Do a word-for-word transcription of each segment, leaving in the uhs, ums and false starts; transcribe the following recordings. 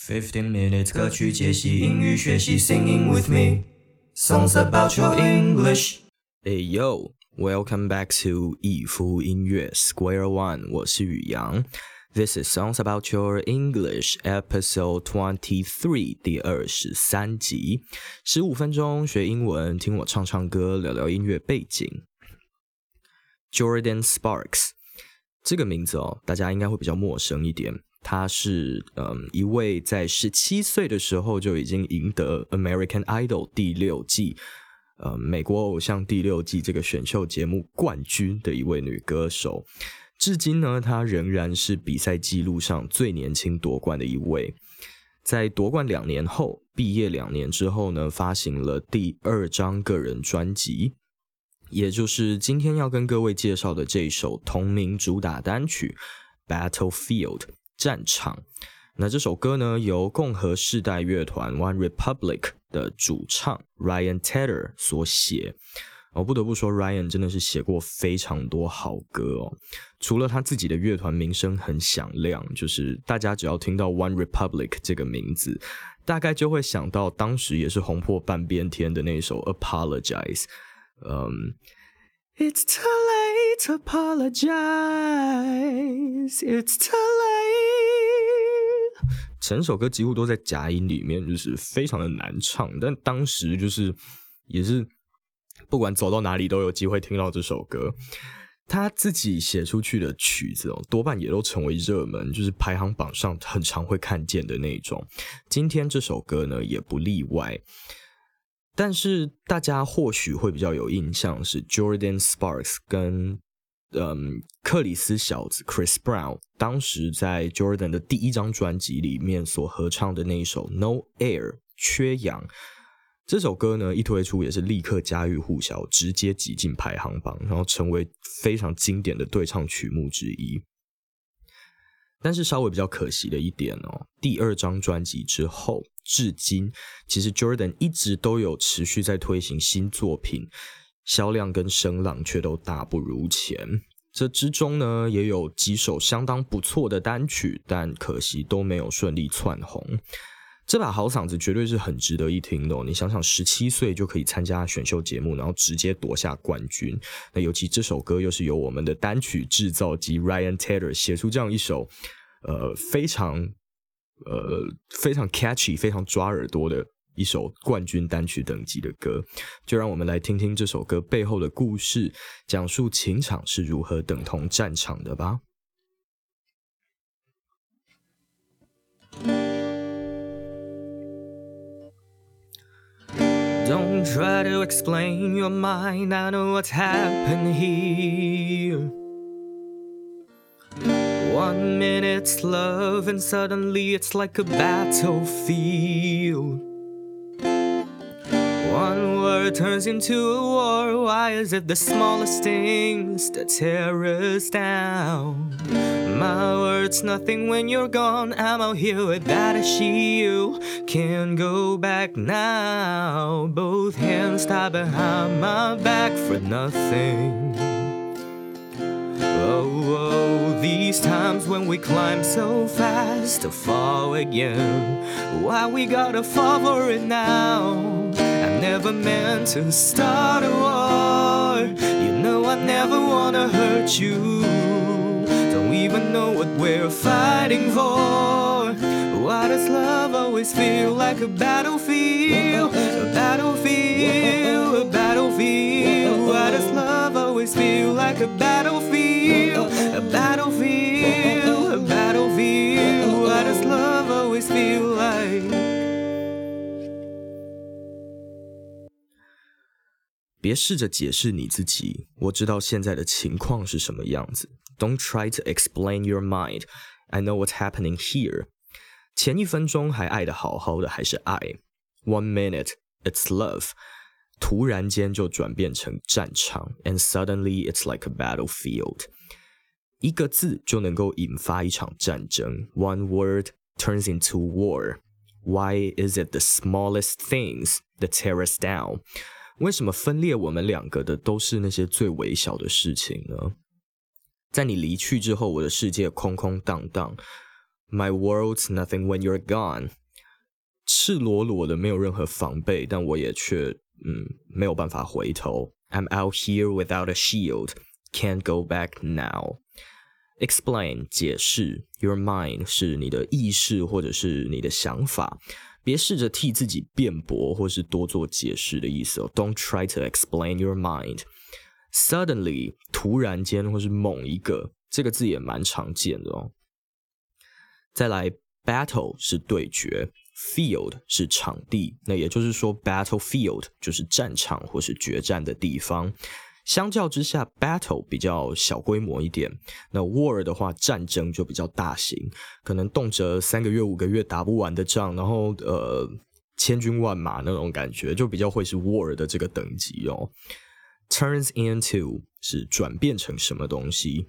Fifteen minutes 歌曲解析英语学习 Singing with me Songs about your English Hey yo, welcome back to 逸夫音乐 Square One， 我是宇阳。This is Songs about your English episode twenty-three 第二十三集，十五分钟学英文，听我唱唱歌，聊聊音乐背景。Jordin Sparks 这个名字哦，大家应该会比较陌生一点。他是嗯一位在十七岁的时候就已经赢得 American Idol 第六季呃美国偶像第六季这个选秀节目冠军的一位女歌手。至今呢，她仍然是比赛记录上最年轻夺冠的一位。在夺冠两年后，毕业两年之后呢，发行了第二张个人专辑，也就是今天要跟各位介绍的这一首同名主打单曲 Battlefield战场。那这首歌呢，由共和世代乐团 One Republic 的主唱 Ryan Tedder 所写。我不得不说 Ryan 真的是写过非常多好歌哦。除了他自己的乐团名声很响亮，就是大家只要听到 One Republic 这个名字，大概就会想到当时也是红破半边天的那首 Apologize。嗯 It's too late to apologize, it's too late。 整首歌几乎都在假音里面，就是非常的难唱，但当时就是也是不管走到哪里都有机会听到这首歌。他自己写出去的曲子哦，多半也都成为热门，就是排行榜上很常会看见的那种。今天这首歌呢也不例外。但是大家或许会比较有印象是 Jordin Sparks 跟嗯克里斯小子 Chris Brown 当时在 Jordan 的第一张专辑里面所合唱的那一首 No Air 缺氧。这首歌呢一推出也是立刻家喻户晓，直接挤进排行榜，然后成为非常经典的对唱曲目之一。但是稍微比较可惜的一点哦，第二张专辑之后至今其实 Jordan 一直都有持续在推行新作品，销量跟声浪却都大不如前。这之中呢也有几首相当不错的单曲，但可惜都没有顺利窜红。这把好嗓子绝对是很值得一听的哦，你想想十七岁就可以参加选秀节目，然后直接夺下冠军。那尤其这首歌又是由我们的单曲制造机 Ryan Tedder 写出这样一首呃非常呃非常 catchy 非常抓耳朵的一首冠军单曲等级的歌。就让我们来听听这首歌背后的故事，讲述情场是如何等同战场的吧。Don't try to explain your mind, I know what's happened here. One minute it's love and suddenly it's like a battlefield. One word turns into a war, why is it the smallest things that tear us down? My word's nothing when you're gone, I'm out here without a shield. Can't go back now, both hands tied behind my back for nothing. Oh, oh, these times when we climb so fast to fall again. Why we gotta fall for it now? I never meant to start a war. You know I never wanna hurt you. Don't even know what we're fighting for. Why does love always feel like a battlefield? A battlefield, a battlefield. Why does love always feel like a battlefield? A battlefield, a battlefield. Why does love always feel like? 别试着解释你自己，我知道现在的情况是什么样子。Don't try to explain your mind, I know what's happening here. 前一分钟还爱得好好的，还是爱。One minute, it's love. 突然間就轉變成戰場 and suddenly it's like a battlefield. 一個字就能夠引發一場戰爭 One word turns into war. Why is it the smallest things that tear us down? 为什么分裂我们两个的都是那些最微小的事情呢？在你离去之后，我的世界空空荡荡， My world's nothing when you're gone. 赤裸裸的没有任何防备，但我也却嗯没有办法回头。I'm out here without a shield, can't go back now. Explain 解释 Your mind 是你的意识或者是你的想法，别试着替自己辩驳或是多做解释的意思哦。Don't try to explain your mind. Suddenly 突然间或是猛一个，这个字也蛮常见的哦。再来 battle 是对决， field 是场地，那也就是说 battlefield 就是战场或是决战的地方。相较之下 battle 比较小规模一点，那 war 的话战争就比较大型，可能动辄三个月五个月打不完的仗，然后呃千军万马那种感觉，就比较会是 war 的这个等级哦。Turns into 是转变成什么东西，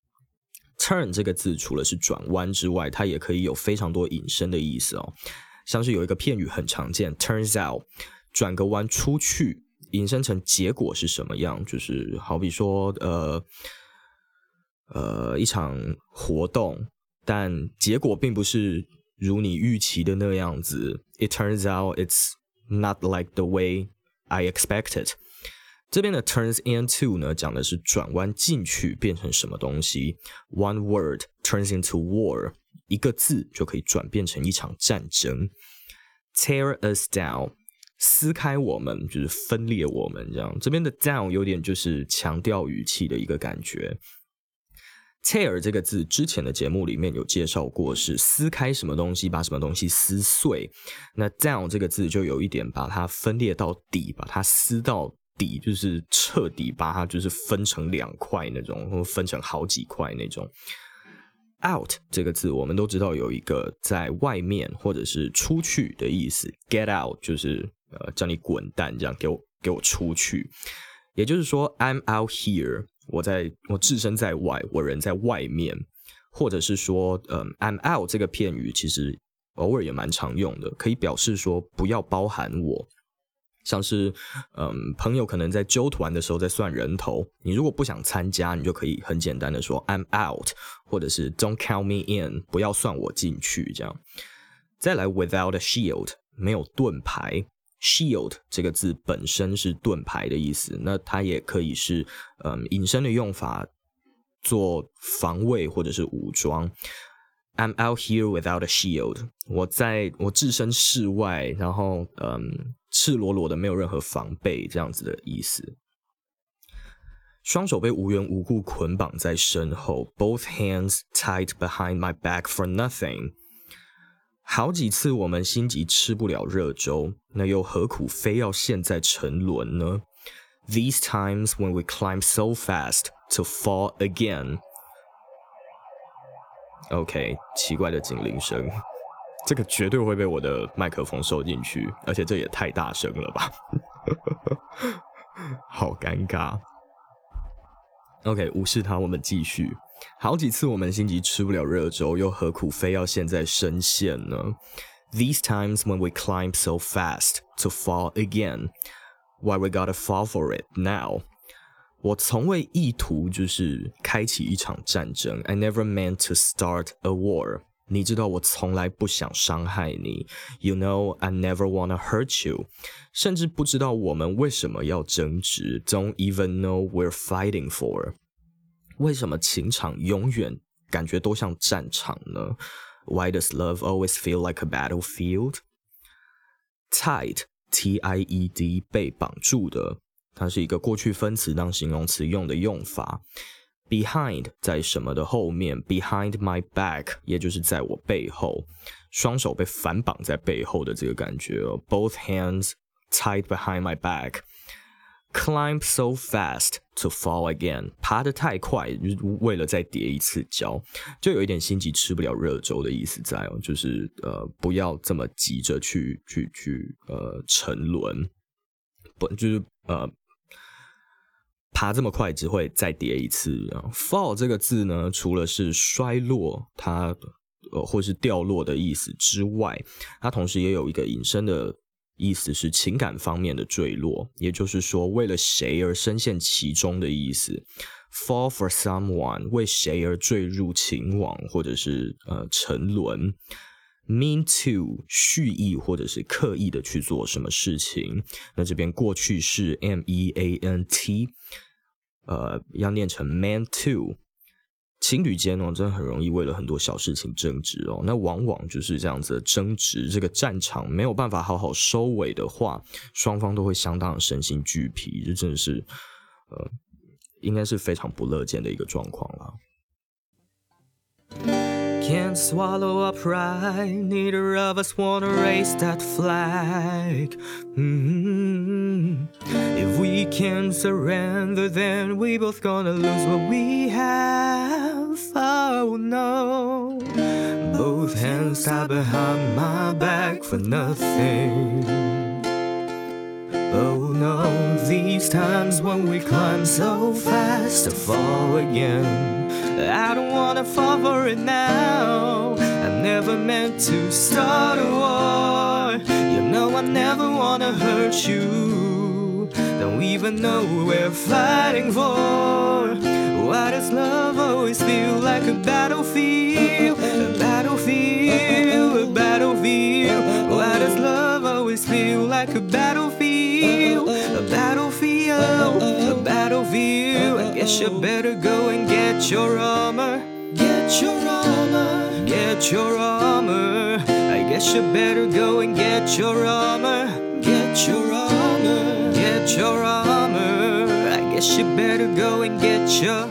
turn 这个字除了是转弯之外，它也可以有非常多引申的意思哦。像是有一个片语很常见 turns out 转个弯出去，引申成结果是什么样，就是好比说呃呃一场活动，但结果并不是如你预期的那样子。It turns out it's not like the way I expected. 这边的 turns into 呢，讲的是转弯进去变成什么东西。One word turns into war. 一个字就可以转变成一场战争。Tear us down.撕开我们就是分裂我们这样，这边的 down 有点就是强调语气的一个感觉。tear 这个字之前的节目里面有介绍过，是撕开什么东西，把什么东西撕碎。那 down 这个字就有一点把它分裂到底，把它撕到底，就是彻底把它就是分成两块那种，或分成好几块那种。out 这个字我们都知道有一个在外面或者是出去的意思， get out 就是呃叫你滚蛋，这样给我给我出去。也就是说 I'm out here， 我在我置身在外，我人在外面，或者是说嗯 I'm out 这个片语其实偶尔也蛮常用的，可以表示说不要包含我。像是嗯，朋友可能在揪团的时候在算人头，你如果不想参加，你就可以很简单的说 I'm out， 或者是 Don't count me in， 不要算我进去这样。再来 without a shield， 没有盾牌。shield 这个字本身是盾牌的意思，那它也可以是嗯引申的用法，做防卫或者是武装。I'm out here without a shield， 我在我置身事外，然后嗯赤裸裸的没有任何防备，这样子的意思。双手被无缘无故捆绑在身后 ，both hands tied behind my back for nothing。好几次我们心急吃不了热粥，那又何苦非要现在沉沦呢？ These times when we climb so fast to fall again。OK， 奇怪的警铃声，这个绝对会被我的麦克风收进去，而且这也太大声了吧，好尴尬。OK， 无视它，我们继续。好几次我们心急吃不了热粥，又何苦非要现在深陷呢？ These times when we climb so fast to fall again, why we gotta fall for it now?我从未意图就是开启一场战争 I never meant to start a war 你知道我从来不想伤害你 You know I never wanna hurt you 甚至不知道我们为什么要争执 Don't even know we're fighting for 为什么情场永远感觉都像战场呢 Why does love always feel like a battlefield? Tied T I E D 被绑住的它是一个过去分词当形容词用的用法。Behind 在什么的后面 Behind my back 也就是在我背后，双手被反绑在背后的这个感觉、哦、Both hands tied behind my back Climb so fast to fall again 爬得太快就是为了再跌一次跤，就有一点心急吃不了热粥的意思在哦，就是呃不要这么急着去去去呃沉沦，不就是呃爬这么快只会再跌一次。fall 这个字呢，除了是衰落它呃或是掉落的意思之外，它同时也有一个引申的意思是情感方面的坠落，也就是说为了谁而深陷其中的意思。 fall for someone 为谁而坠入情网或者是呃沉沦。mean to 蓄意或者是刻意的去做什么事情，那这边过去式 M E A N T 呃要念成 meant to。情侣间哦，真的很容易为了很多小事情争执哦。那往往就是这样子的争执，这个战场没有办法好好收尾的话，双方都会相当的身心俱疲，这真的是呃，应该是非常不乐见的一个状况啦。 Can't swallow our pride, neither of us wanna raise that flag. Mm-hmm. If we can't surrender, then we both gonna lose what we have. Oh no, both hands tied behind my back for nothing. Oh no, these times when we climb so fast to fall again. I don't wanna fall for it now. I never meant to start a war. You know I never wanna hurt you. Don't even know what we're fighting for. Why does love always feel like a battlefield? A battlefield, a battlefield. Why does love always feel like a battlefield? A battlefield, a battlefield. I guess you better go and get your armor. Get your armor. Get your armor. I guess you better go and get your armor. Get your armor. Get your armor. I guess you better go and get your.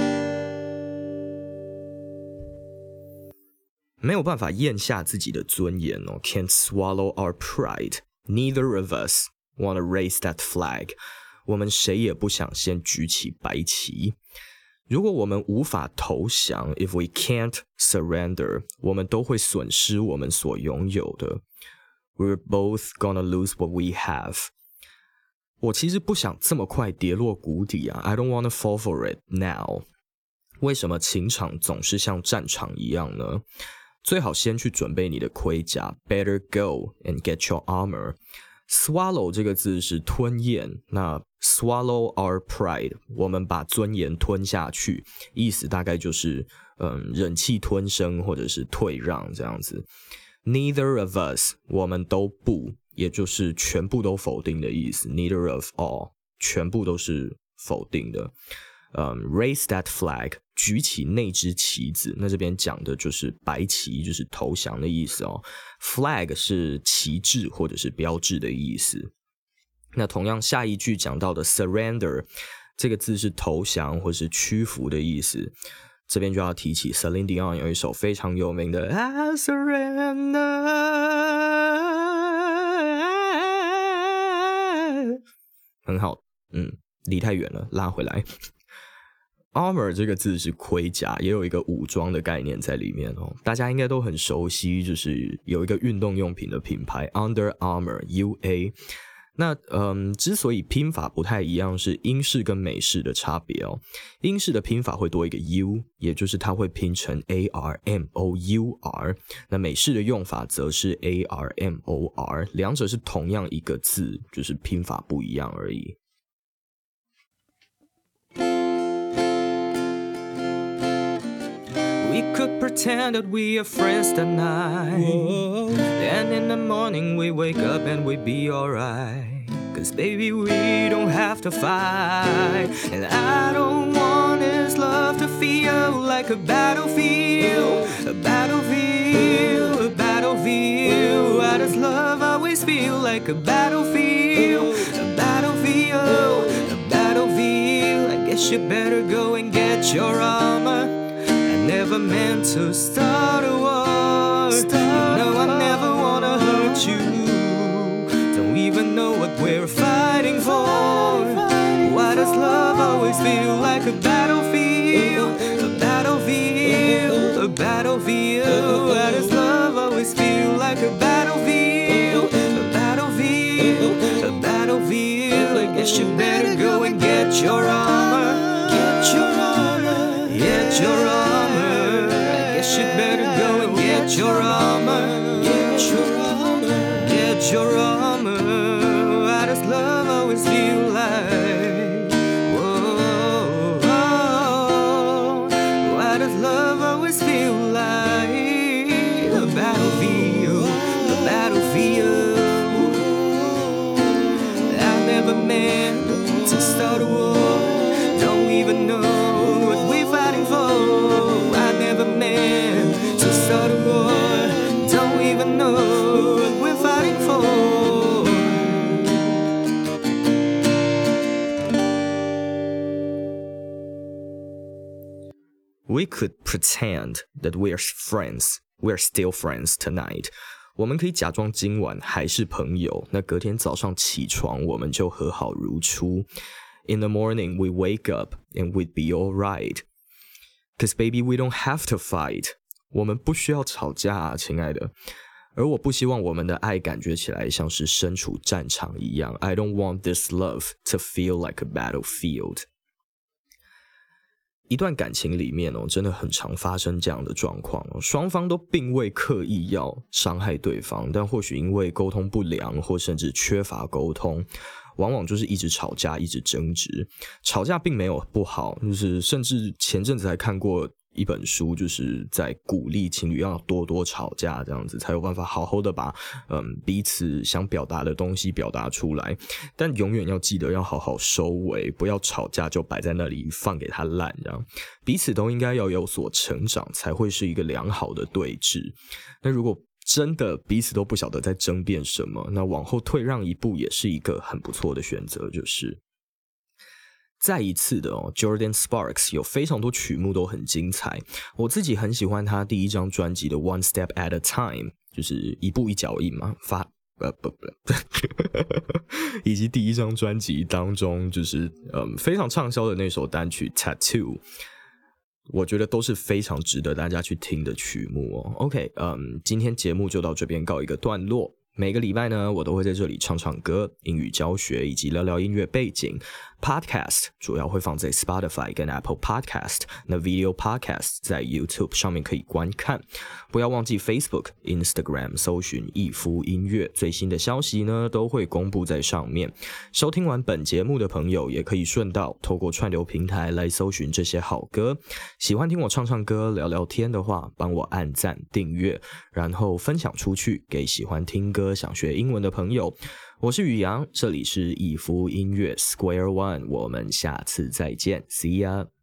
没有办法咽下自己的尊严哦 ，Can't swallow our pride. Neither of us wanna raise that flag. 我们谁也不想先举起白旗。如果我们无法投降 ，if we can't surrender， 我们都会损失我们所拥有的。We're both gonna lose what we have. 我其实不想这么快跌落谷底啊 ，I don't wanna fall for it now. 为什么情场总是像战场一样呢？最好先去准备你的盔甲 ，Better go and get your armor.Swallow 这个字是吞咽，那 swallow our pride 我们把尊严吞下去，意思大概就是嗯忍气吞声或者是退让这样子。Neither of us 我们都不，也就是全部都否定的意思。Neither of all 全部都是否定的。嗯 raise that flag 举起那只旗子，那这边讲的就是白旗，就是投降的意思哦。flag 是旗帜或者是标志的意思。那同样下一句讲到的 surrender 这个字是投降或是屈服的意思。这边就要提起 Celine Dion 有一首非常有名的 I surrender， 很好，嗯，离太远了，拉回来。Armor 这个字是盔甲，也有一个武装的概念在里面哦。大家应该都很熟悉，就是有一个运动用品的品牌 Under Armour U A。那嗯，之所以拼法不太一样，是英式跟美式的差别哦。英式的拼法会多一个 U， 也就是它会拼成 A R M O U R。那美式的用法则是 A R M O R， 两者是同样一个字，就是拼法不一样而已。 We could pretend that we are friends tonight. Whoa. Then in the morning we wake up and we be alright. Cause baby we don't have to fight. And I don't want this love to feel like a battlefield. A battlefield, a battlefield. Why does love always feel like a battlefield? A battlefield, a battlefield. I guess you better go and get your armor.Never meant to start a war. Start you know I never wanna hurt you. Don't even know what we're fighting for. Why does love always feel like a battlefield? A battlefield, a battlefield. Why does love always feel like a battlefield? A battlefield, a battlefield. I guess you better go and get your armor. Get your armor. Get your armor.You better go and get your armor. Get your armor. Get your armor. Why does love always feel like? Whoa, oh, know what we're fighting for. We could pretend that we're friends. We're still friends tonight. 我们可以假装今晚还是朋友，那隔天早上起床我们就和好如初。In the morning we wake up and we'd be alright. Cause baby we don't have to fight. 我们不需要吵架啊，亲爱的。而我不希望我们的爱感觉起来像是身处战场一样。I don't want this love to feel like a battlefield. 一段感情里面哦，真的很常发生这样的状况哦，双方都并未刻意要伤害对方，但或许因为沟通不良或甚至缺乏沟通，往往就是一直吵架，一直争执。吵架并没有不好，就是甚至前阵子还看过一本书，就是在鼓励情侣要多多吵架，这样子才有办法好好的把嗯彼此想表达的东西表达出来。但永远要记得要好好收尾，不要吵架就摆在那里放给他烂，这样彼此都应该要有所成长，才会是一个良好的对峙。那如果真的彼此都不晓得在争辩什么，那往后退让一步也是一个很不错的选择，就是再一次的哦 Jordan Sparks 有非常多曲目都很精彩，我自己很喜欢他第一张专辑的 One Step at a Time， 就是一步一脚印嘛，发呃不不以及第一张专辑当中就是嗯非常畅销的那首单曲 Tattoo， 我觉得都是非常值得大家去听的曲目哦。OK， 嗯，今天节目就到这边告一个段落。每个礼拜呢，我都会在这里唱唱歌、英语教学以及聊聊音乐背景。Podcast 主要会放在 Spotify 跟 Apple Podcast， 那 Video Podcast 在 YouTube 上面可以观看。不要忘记 Facebook、Instagram 搜寻逸夫音乐，最新的消息呢都会公布在上面。收听完本节目的朋友，也可以顺道透过串流平台来搜寻这些好歌。喜欢听我唱唱歌、聊聊天的话，帮我按赞、订阅，然后分享出去给喜欢听歌、想学英文的朋友。我是宇阳，这里是逸夫音乐 Square One， 我们下次再见 ，See ya。